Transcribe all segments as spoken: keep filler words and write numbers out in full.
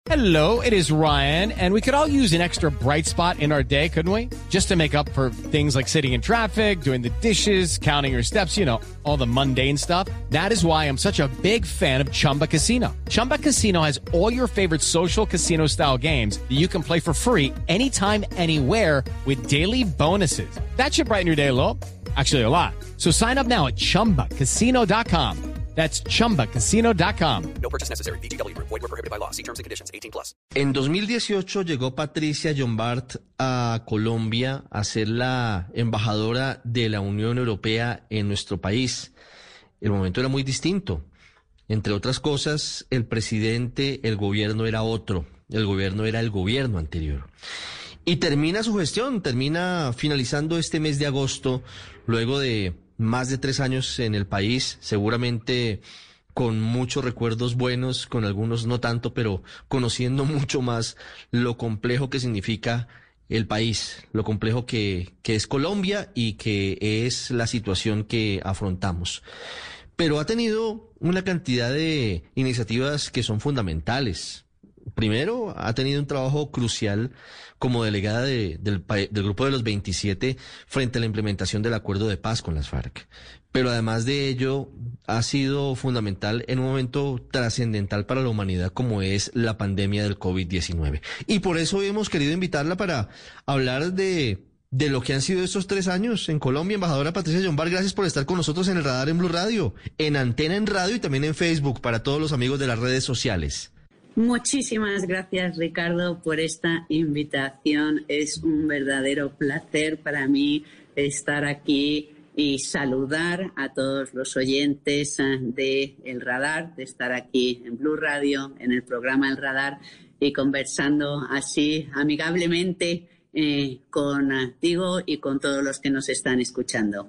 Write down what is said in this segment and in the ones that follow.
Hello, it is Ryan, and we could all use an extra bright spot in our day, couldn't we? Just to make up for things like sitting in traffic, doing the dishes, counting your steps, you know, all the mundane stuff. That is why I'm such a big fan of Chumba Casino. Chumba Casino has all your favorite social casino-style games that you can play for free anytime, anywhere with daily bonuses. That should brighten your day a little. Actually, a lot. So sign up now at chumba casino dot com. That's chumba casino dot com. No purchase necessary. V G W Group. Void where prohibited by law. See terms and conditions. eighteen plus. En dos mil dieciocho llegó Patricia Llombart a Colombia a ser la embajadora de la Unión Europea en nuestro país. El momento era muy distinto. Entre otras cosas, el presidente, el gobierno era otro. El gobierno era el gobierno anterior. Y termina su gestión, termina finalizando este mes de agosto, luego de más de tres años en el país, seguramente con muchos recuerdos buenos, con algunos no tanto, pero conociendo mucho más lo complejo que significa el país, lo complejo que, que es Colombia y que es la situación que afrontamos. Pero ha tenido una cantidad de iniciativas que son fundamentales. Primero, ha tenido un trabajo crucial como delegada de, del, del Grupo de los veintisiete frente a la implementación del acuerdo de paz con las FARC. Pero además de ello, ha sido fundamental en un momento trascendental para la humanidad como es la pandemia del COVID diecinueve. Y por eso hemos querido invitarla para hablar de, de lo que han sido estos tres años en Colombia. Embajadora Patricia Llombart, gracias por estar con nosotros en el Radar en Blue Radio, en Antena en Radio y también en Facebook para todos los amigos de las redes sociales. Muchísimas gracias, Ricardo, por esta invitación. Es un verdadero placer para mí estar aquí y saludar a todos los oyentes de El Radar, de estar aquí en Blue Radio, en el programa El Radar, y conversando así amigablemente eh, contigo y con todos los que nos están escuchando.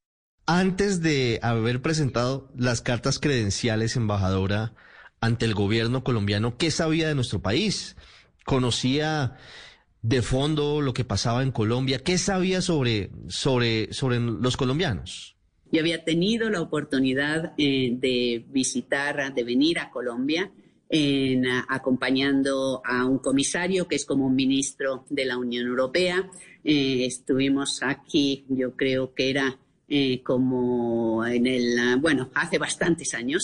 Antes de haber presentado las cartas credenciales, embajadora, ante el gobierno colombiano, ¿qué sabía de nuestro país? ¿Conocía de fondo lo que pasaba en Colombia? ¿Qué sabía sobre, sobre, sobre los colombianos? Yo había tenido la oportunidad eh, de visitar, de venir a Colombia, en, a, acompañando a un comisario que es como un ministro de la Unión Europea. Eh, estuvimos aquí, yo creo que era Eh, como en el, bueno, hace bastantes años,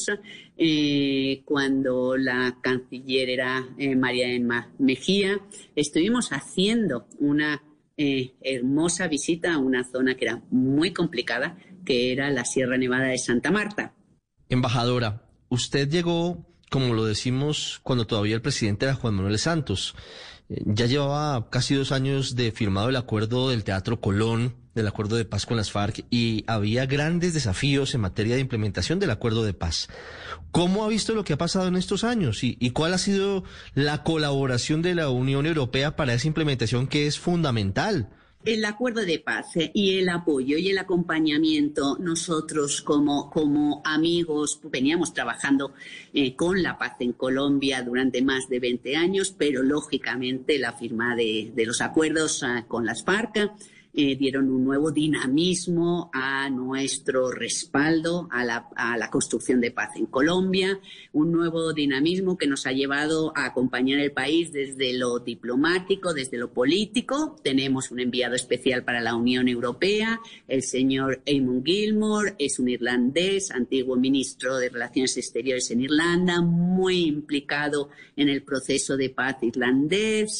eh, cuando la canciller era eh, María Emma Mejía, estuvimos haciendo una eh, hermosa visita a una zona que era muy complicada, que era la Sierra Nevada de Santa Marta. Embajadora, usted llegó, como lo decimos, cuando todavía el presidente era Juan Manuel Santos. Eh, ya llevaba casi dos años de firmado el acuerdo del Teatro Colón, del acuerdo de paz con las FARC, y había grandes desafíos en materia de implementación del acuerdo de paz. ¿Cómo ha visto lo que ha pasado en estos años y, y cuál ha sido la colaboración de la Unión Europea para esa implementación que es fundamental? El acuerdo de paz y el apoyo y el acompañamiento, nosotros como, como amigos veníamos trabajando eh, con la paz en Colombia durante más de veinte años, pero lógicamente la firma de, de los acuerdos uh, con las FARC Eh, dieron un nuevo dinamismo a nuestro respaldo a la, a la construcción de paz en Colombia, un nuevo dinamismo que nos ha llevado a acompañar el país desde lo diplomático, desde lo político. Tenemos un enviado especial para la Unión Europea, el señor Eamon Gilmore, es un irlandés, antiguo ministro de Relaciones Exteriores en Irlanda, muy implicado en el proceso de paz irlandés.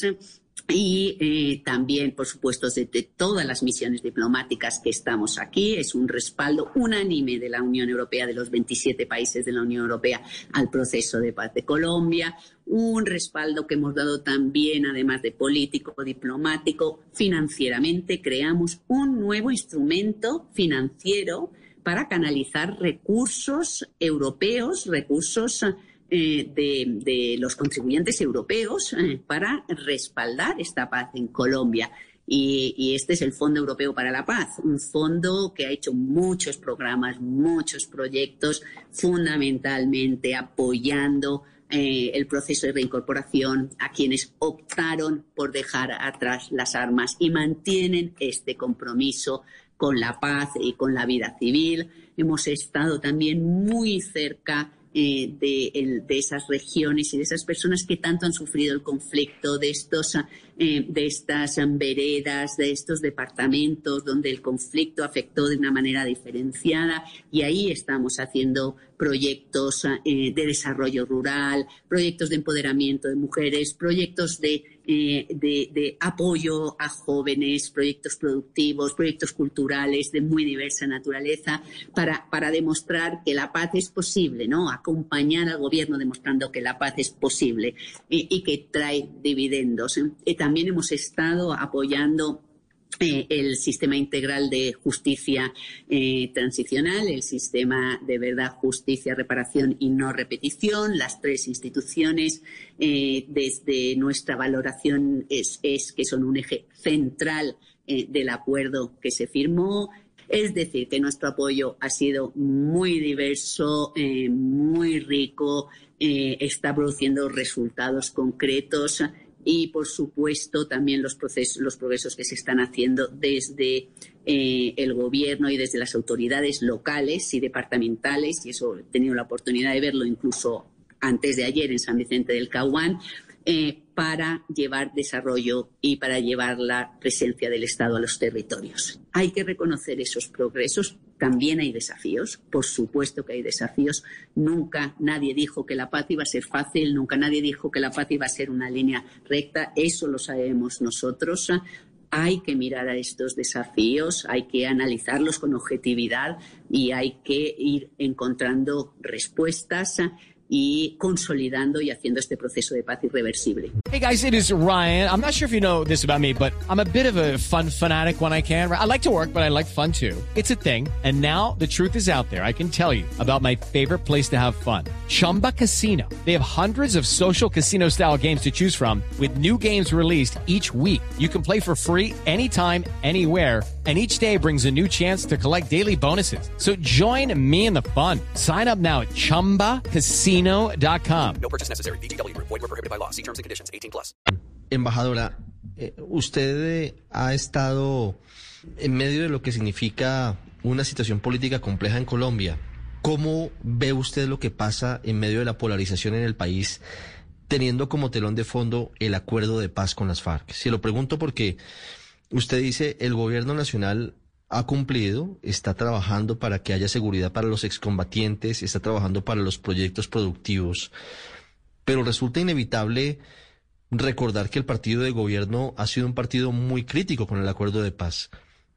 Y eh, también, por supuesto, de, de todas las misiones diplomáticas que estamos aquí. Es un respaldo unánime de la Unión Europea, de los veintisiete países de la Unión Europea, al proceso de paz de Colombia. Un respaldo que hemos dado también, además de político, diplomático, financieramente. Creamos un nuevo instrumento financiero para canalizar recursos europeos, recursos Eh, de, de los contribuyentes europeos eh, para respaldar esta paz en Colombia. Y, y este es el Fondo Europeo para la Paz, un fondo que ha hecho muchos programas, muchos proyectos, fundamentalmente apoyando eh, el proceso de reincorporación a quienes optaron por dejar atrás las armas y mantienen este compromiso con la paz y con la vida civil. Hemos estado también muy cerca eh, de, el, de esas regiones y de esas personas que tanto han sufrido el conflicto, de estos, eh, de estas veredas, de estos departamentos donde el conflicto afectó de una manera diferenciada, y ahí estamos haciendo proyectos eh, de desarrollo rural, proyectos de empoderamiento de mujeres, proyectos de, eh, de, de apoyo a jóvenes, proyectos productivos, proyectos culturales de muy diversa naturaleza, para, para demostrar que la paz es posible, ¿no? Acompañar al gobierno demostrando que la paz es posible y, y que trae dividendos. Y también hemos estado apoyando Eh, el sistema integral de justicia eh, transicional, el sistema de verdad, justicia, reparación y no repetición. Las tres instituciones, eh, desde nuestra valoración, es, es que son un eje central eh, del acuerdo que se firmó. Es decir, que nuestro apoyo ha sido muy diverso, eh, muy rico, eh, está produciendo resultados concretos. Y, por supuesto, también los procesos, los progresos que se están haciendo desde eh, el gobierno y desde las autoridades locales y departamentales, y eso he tenido la oportunidad de verlo incluso antes de ayer en San Vicente del Caguán, eh, para llevar desarrollo y para llevar la presencia del Estado a los territorios. Hay que reconocer esos progresos. También hay desafíos, por supuesto que hay desafíos. Nunca nadie dijo que la paz iba a ser fácil, nunca nadie dijo que la paz iba a ser una línea recta, eso lo sabemos nosotros. Hay que mirar a estos desafíos, hay que analizarlos con objetividad y hay que ir encontrando respuestas y consolidando y haciendo este proceso de paz irreversible. Hey guys, it is Ryan. I'm not sure if you know this about me, but I'm a bit of a fun fanatic when I can. I like to work, but I like fun too. It's a thing. And now the truth is out there. I can tell you about my favorite place to have fun. Chumba Casino. They have hundreds of social casino style games to choose from with new games released each week. You can play for free anytime, anywhere. And each day brings a new chance to collect daily bonuses. So join me in the fun. Sign up now at chumba casino dot com. No purchase necessary. V G W Group. Void where prohibited by law. See terms and conditions. eighteen plus. Embajadora, eh, usted eh, ha estado en medio de lo que significa una situación política compleja en Colombia. ¿Cómo ve usted lo que pasa en medio de la polarización en el país, teniendo como telón de fondo el acuerdo de paz con las FARC? Se lo pregunto porque usted dice el gobierno nacional ha cumplido, está trabajando para que haya seguridad para los excombatientes, está trabajando para los proyectos productivos, pero resulta inevitable recordar que el partido de gobierno ha sido un partido muy crítico con el acuerdo de paz.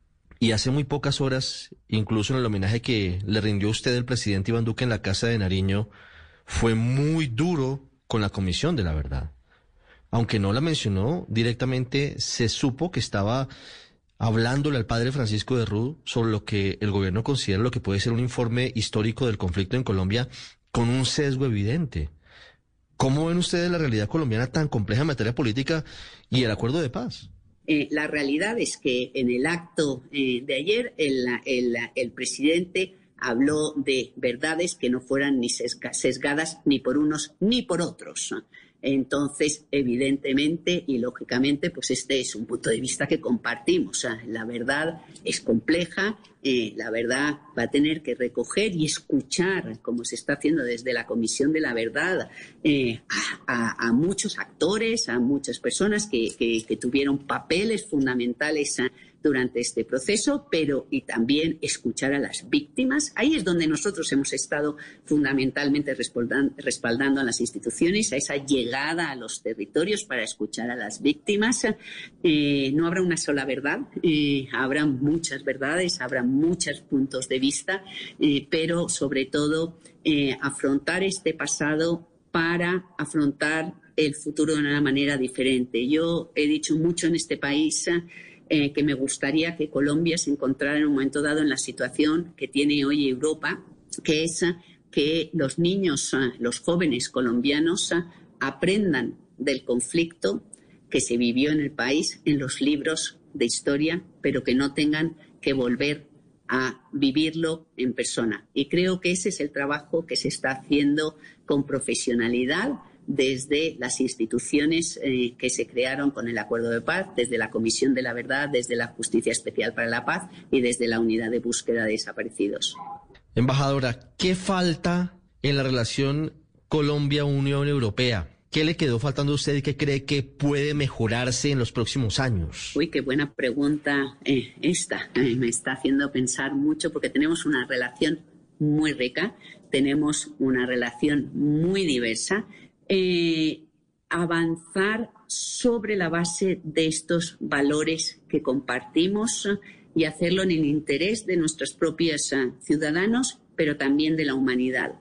Y hace muy pocas horas, incluso en el homenaje que le rindió usted el presidente Iván Duque en la Casa de Nariño, fue muy duro con la Comisión de la Verdad. Aunque no la mencionó directamente, se supo que estaba hablándole al padre Francisco de Rú sobre lo que el gobierno considera lo que puede ser un informe histórico del conflicto en Colombia con un sesgo evidente. ¿Cómo ven ustedes la realidad colombiana tan compleja en materia política y el acuerdo de paz? Eh, la realidad es que en el acto eh, de ayer el, el, el presidente habló de verdades que no fueran ni sesga, sesgadas ni por unos ni por otros. Entonces, evidentemente y lógicamente, pues este es un punto de vista que compartimos. O sea, la verdad es compleja, eh, la verdad va a tener que recoger y escuchar, como se está haciendo desde la Comisión de la Verdad, eh, a, a, a muchos actores, a muchas personas que, que, que tuvieron papeles fundamentales a, durante este proceso, pero y también escuchar a las víctimas. Ahí es donde nosotros hemos estado fundamentalmente respaldando, respaldando a las instituciones, a esa llegada a los territorios para escuchar a las víctimas. Eh, no habrá una sola verdad, eh, habrá muchas verdades, habrá muchos puntos de vista, eh, pero sobre todo eh, afrontar este pasado para afrontar el futuro de una manera diferente. Yo he dicho mucho en este país Eh, que me gustaría que Colombia se encontrara en un momento dado en la situación que tiene hoy Europa, que es que los niños, los jóvenes colombianos aprendan del conflicto que se vivió en el país en los libros de historia, pero que no tengan que volver a vivirlo en persona. Y creo que ese es el trabajo que se está haciendo con profesionalidad desde las instituciones eh, que se crearon con el Acuerdo de Paz, desde la Comisión de la Verdad, desde la Justicia Especial para la Paz y desde la Unidad de Búsqueda de Desaparecidos. Embajadora, ¿qué falta en la relación Colombia-Unión Europea. ¿Qué le quedó faltando a usted y qué cree que puede mejorarse en los próximos años? Uy, qué buena pregunta eh, esta. Eh, me está haciendo pensar mucho porque tenemos una relación muy rica, tenemos una relación muy diversa. Eh, avanzar sobre la base de estos valores que compartimos y hacerlo en el interés de nuestros propios uh, ciudadanos, pero también de la humanidad.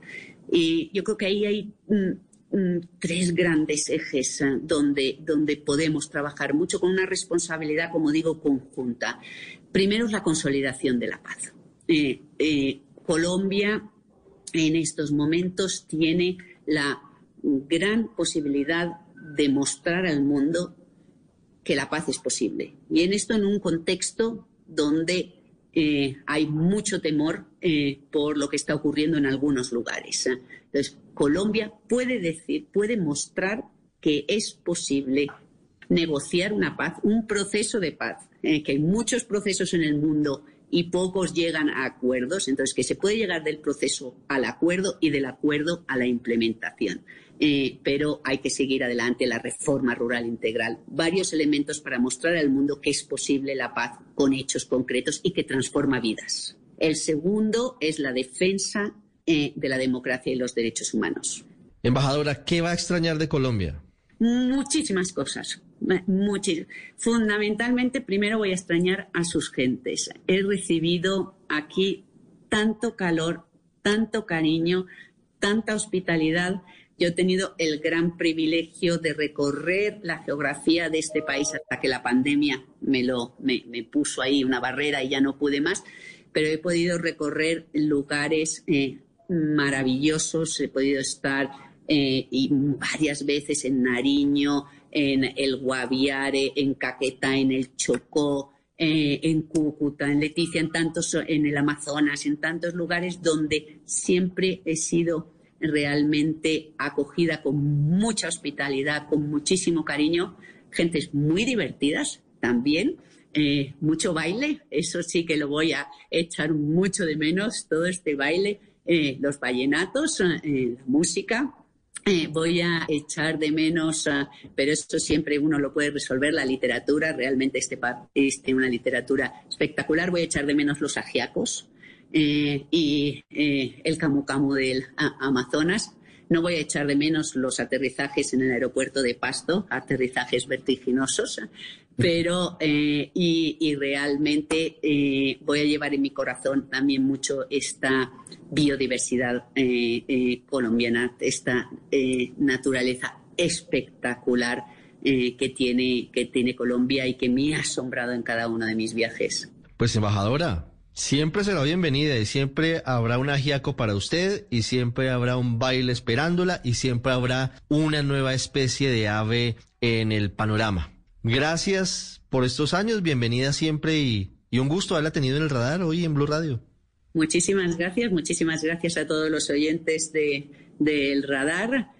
Y yo creo que ahí hay mm, mm, tres grandes ejes uh, donde, donde podemos trabajar mucho con una responsabilidad, como digo, conjunta. Primero es la consolidación de la paz. Eh, eh, Colombia en estos momentos tiene la gran posibilidad de mostrar al mundo que la paz es posible. Y en esto en un contexto donde eh, hay mucho temor eh, por lo que está ocurriendo en algunos lugares. Entonces, Colombia puede decir, puede mostrar que es posible negociar una paz, un proceso de paz, eh, que hay muchos procesos en el mundo y pocos llegan a acuerdos, entonces que se puede llegar del proceso al acuerdo y del acuerdo a la implementación. Eh, pero hay que seguir adelante la reforma rural integral. Varios elementos para mostrar al mundo que es posible la paz con hechos concretos y que transforma vidas. El segundo es la defensa eh, de la democracia y los derechos humanos. Embajadora, ¿qué va a extrañar de Colombia? Muchísimas cosas. Muchísimas. Fundamentalmente, primero voy a extrañar a sus gentes. He recibido aquí tanto calor, tanto cariño, tanta hospitalidad. Yo he tenido el gran privilegio de recorrer la geografía de este país hasta que la pandemia me, lo, me, me puso ahí una barrera y ya no pude más, pero he podido recorrer lugares eh, maravillosos, he podido estar eh, y varias veces en Nariño, en el Guaviare, en Caquetá, en el Chocó, eh, en Cúcuta, en Leticia, en tantos, en el Amazonas, en tantos lugares donde siempre he sido realmente acogida con mucha hospitalidad, con muchísimo cariño, gentes muy divertidas también, eh, mucho baile, eso sí que lo voy a echar mucho de menos, todo este baile, eh, los vallenatos, eh, la música. Eh, voy a echar de menos, uh, pero esto siempre uno lo puede resolver, la literatura, realmente este país tiene una literatura espectacular. Voy a echar de menos los ajiacos eh, y eh, el camu camu del a, Amazonas. No voy a echar de menos los aterrizajes en el aeropuerto de Pasto, aterrizajes vertiginosos, pero eh, y, y realmente eh, voy a llevar en mi corazón también mucho esta biodiversidad eh, eh, colombiana, esta eh, naturaleza espectacular eh, que tiene, que tiene Colombia y que me ha asombrado en cada uno de mis viajes. Pues, embajadora, siempre será bienvenida y siempre habrá un ajiaco para usted y siempre habrá un baile esperándola y siempre habrá una nueva especie de ave en el panorama. Gracias por estos años, bienvenida siempre y, y un gusto haberla tenido en el radar hoy en Blue Radio. Muchísimas gracias, muchísimas gracias a todos los oyentes de, del radar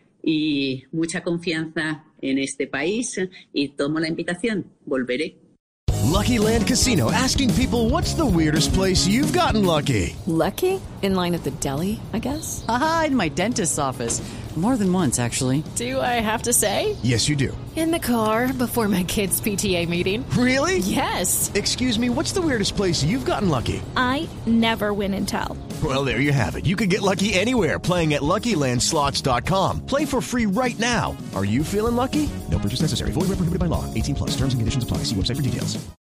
y mucha confianza en este país y tomo la invitación, volveré. Lucky Land Casino, asking people, what's the weirdest place you've gotten lucky? Lucky? In line at the deli, I guess? Aha, in my dentist's office. More than once, actually. Do I have to say? Yes, you do. In the car before my kids' P T A meeting. Really? Yes. Excuse me, what's the weirdest place you've gotten lucky? I never win and tell. Well, there you have it. You can get lucky anywhere, playing at Lucky Land Slots dot com. Play for free right now. Are you feeling lucky? No purchase necessary. Void where prohibited by law. eighteen plus. Terms and conditions apply. See website for details.